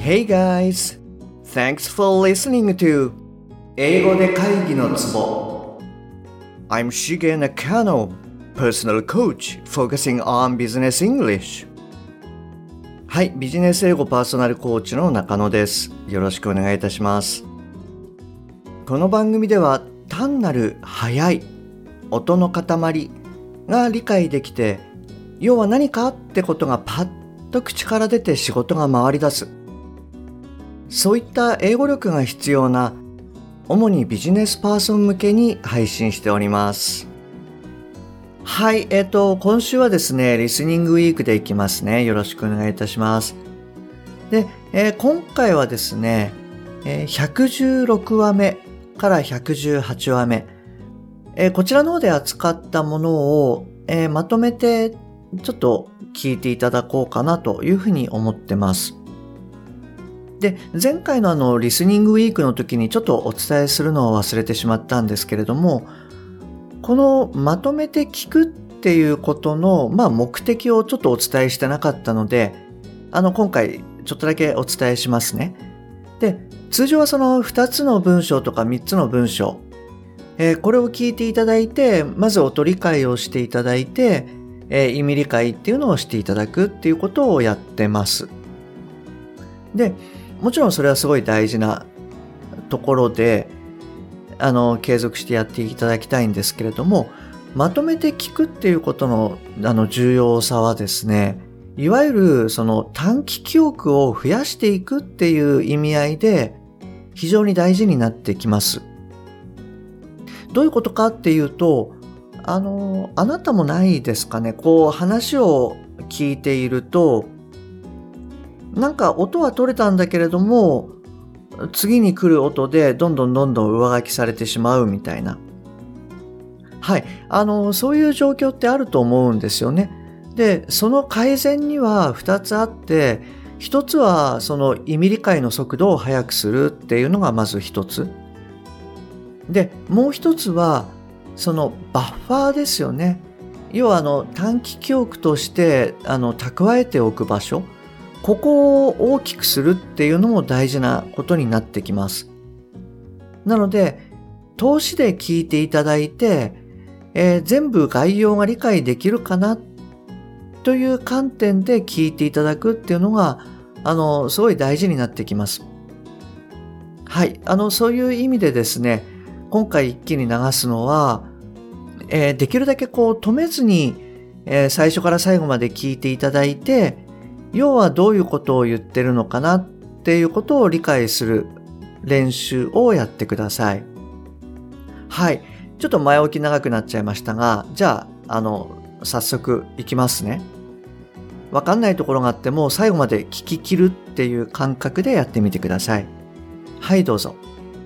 Hey guys! Thanks for listening to 英語で会議のツボ I'm Shige Nakano, personal coach focusing on business English. はい、ビジネス英語パーソナルコーチの中野です。よろしくお願いいたします。この番組では単なる速い音の塊が理解できて、要は何かってことがパッと口から出て仕事が回り出す。そういった英語力が必要な主にビジネスパーソン向けに配信しております。はい、今週はですね、リスニングウィークでいきますね。よろしくお願いいたします。で、今回はですね、116話目から118話目、こちらの方で扱ったものを、まとめてちょっと聞いていただこうかなというふうに思ってます。で、前回のリスニングウィークの時にちょっとお伝えするのを忘れてしまったんですけれども、このまとめて聞くっていうことの、目的をちょっとお伝えしてなかったので、今回ちょっとだけお伝えしますね。で、通常はその2つの文章とか3つの文章、これを聞いていただいて、まず音理解をしていただいて、意味理解っていうのをしていただくっていうことをやってます。で、もちろんそれはすごい大事なところで、継続してやっていただきたいんですけれども、まとめて聞くっていうことの、重要さはですね、いわゆるその短期記憶を増やしていくっていう意味合いで非常に大事になってきます。どういうことかっていうと、あなたもないですかね、こう話を聞いていると、なんか音は取れたんだけれども、次に来る音でどんどん上書きされてしまうみたいな。はい。そういう状況ってあると思うんですよね。で、その改善には2つあって、1つはその意味理解の速度を速くするっていうのがまず1つ。で、もう1つは、そのバッファーですよね。要は短期記憶として蓄えておく場所。ここを大きくするっていうのも大事なことになってきます。なので、通しで聞いていただいて、全部概要が理解できるかなという観点で聞いていただくっていうのが、すごい大事になってきます。はい。そういう意味でですね、今回一気に流すのは、できるだけこう止めずに、最初から最後まで聞いていただいて、要はどういうことを言ってるのかなっていうことを理解する練習をやってください。はい。ちょっと前置き長くなっちゃいましたが、じゃあ、早速いきますね。わかんないところがあっても最後まで聞き切るっていう感覚でやってみてください。はい、どうぞ。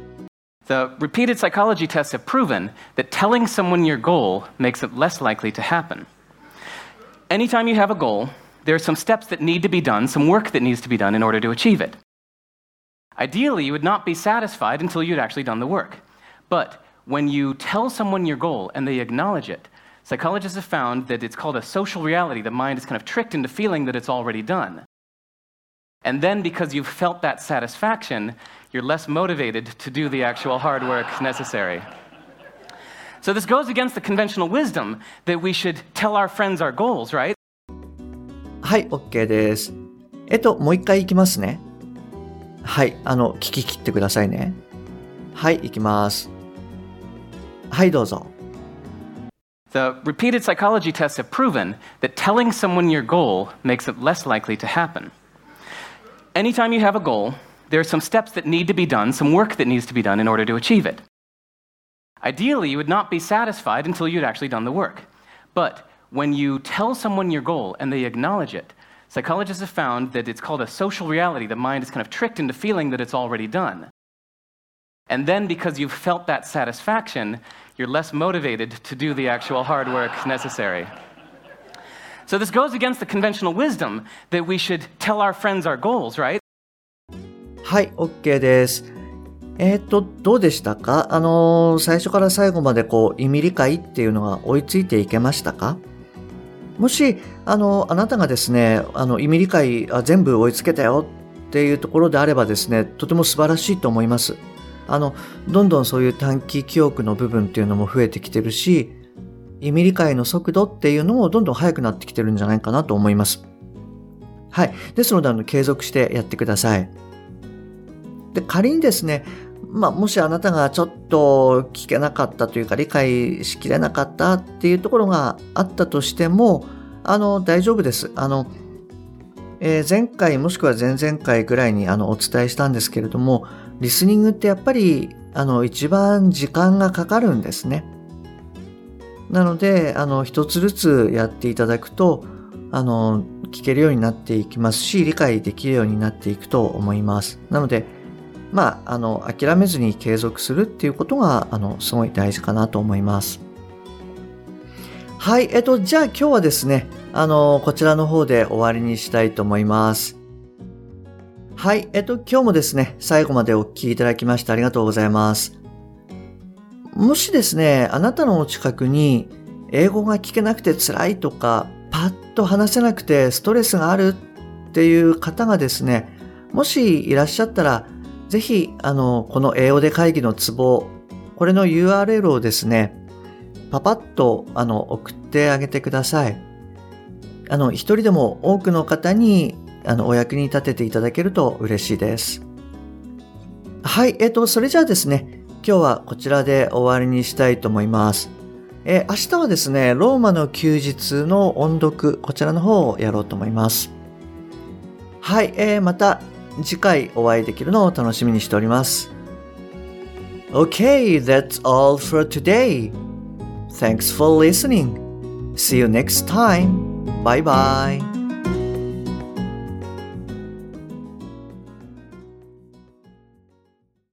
The repeated psychology tests have proven that telling someone your goal makes it less likely to happen. Anytime you have a goal, there are some steps that need to be done, some work that needs to be done in order to achieve it. Ideally, you would not be satisfied until you'd actually done the work. But when you tell someone your goal and they acknowledge it, psychologists have found that it's called a social reality. The mind is kind of tricked into feeling that it's already done. And then because you've felt that satisfaction, you're less motivated to do the actual hard work necessary. So this goes against the conventional wisdom that we should tell our friends our goals, right? はい、OK です。もう一回いきますね。はい、聞き切ってくださいね。はい、いきます。はい、どうぞ。 The repeated psychology tests have proven that telling someone your goal makes it less likely to happen. Anytime you have a goal, there are some steps that need to be done, some work that needs to be done in order to achieve it. Ideally, you would not be satisfied until you'd actually done the work. But when you tell someone your goal and they acknowledge it, psychologists have found that it's called a social reality. The mind is kind of tricked into feeling that it's already done. And then because you've felt that satisfaction, you're less motivated to do the actual hard work necessary. So this goes against the conventional wisdom that we should tell our friends our goals, right? はい、OK です。どうでしたか？最初から最後まで意味理解っていうのが追いついていけましたか？もし、あなたがですね、意味理解全部追いつけたよっていうところであればですね、とても素晴らしいと思います。どんどんそういう短期記憶の部分っていうのも増えてきてるし、意味理解の速度っていうのもどんどん速くなってきてるんじゃないかなと思います。はい。ですので、継続してやってください。で、仮にですね、もしあなたがちょっと聞けなかったというか理解しきれなかったっていうところがあったとしても、大丈夫です。前回もしくは前々回ぐらいにお伝えしたんですけれども、リスニングってやっぱり一番時間がかかるんですね。なので一つずつやっていただくと聞けるようになっていきますし、理解できるようになっていくと思います。なので諦めずに継続するっていうことがすごい大事かなと思います。はい、じゃあ今日はですねこちらの方で終わりにしたいと思います。はい、今日もですね最後までお聞きいただきましてありがとうございます。もしですねあなたのお近くに英語が聞けなくて辛いとかパッと話せなくてストレスがあるっていう方がですねもしいらっしゃったらぜひこの英語で会議のツボ、これの URL をですねパパッと送ってあげてください。一人でも多くの方にお役に立てていただけると嬉しいです。はい、それじゃあですね今日はこちらで終わりにしたいと思います。明日はですねローマの休日の音読、こちらの方をやろうと思います。はい、また次回お会いできるのを楽しみにしております。Okay, that's all for today. Thanks for listening. See you next time. Bye bye.